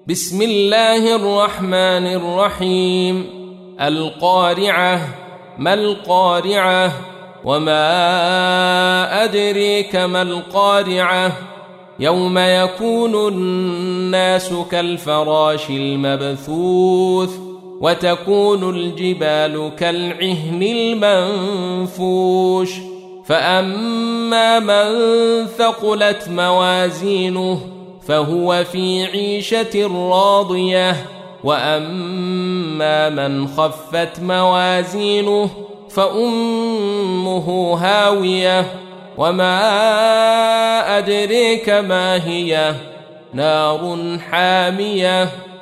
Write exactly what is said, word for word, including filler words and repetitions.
بسم الله الرحمن الرحيم. القارعة. ما القارعة؟ وما أدريك ما القارعة؟ يوم يكون الناس كالفراش المبثوث وتكون الجبال كالعهن المنفوش فأما من ثقلت موازينه فهو في عيشة راضية وأما من خفت موازينه فأمه هاوية وما أدريك ما هي نار حامية